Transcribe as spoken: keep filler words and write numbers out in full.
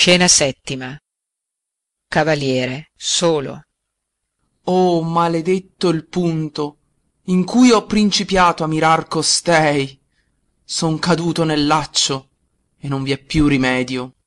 scena settima. Cavaliere solo. Oh, maledetto il punto in cui ho principiato a mirar costei! Son caduto nel laccio e non vi è più rimedio.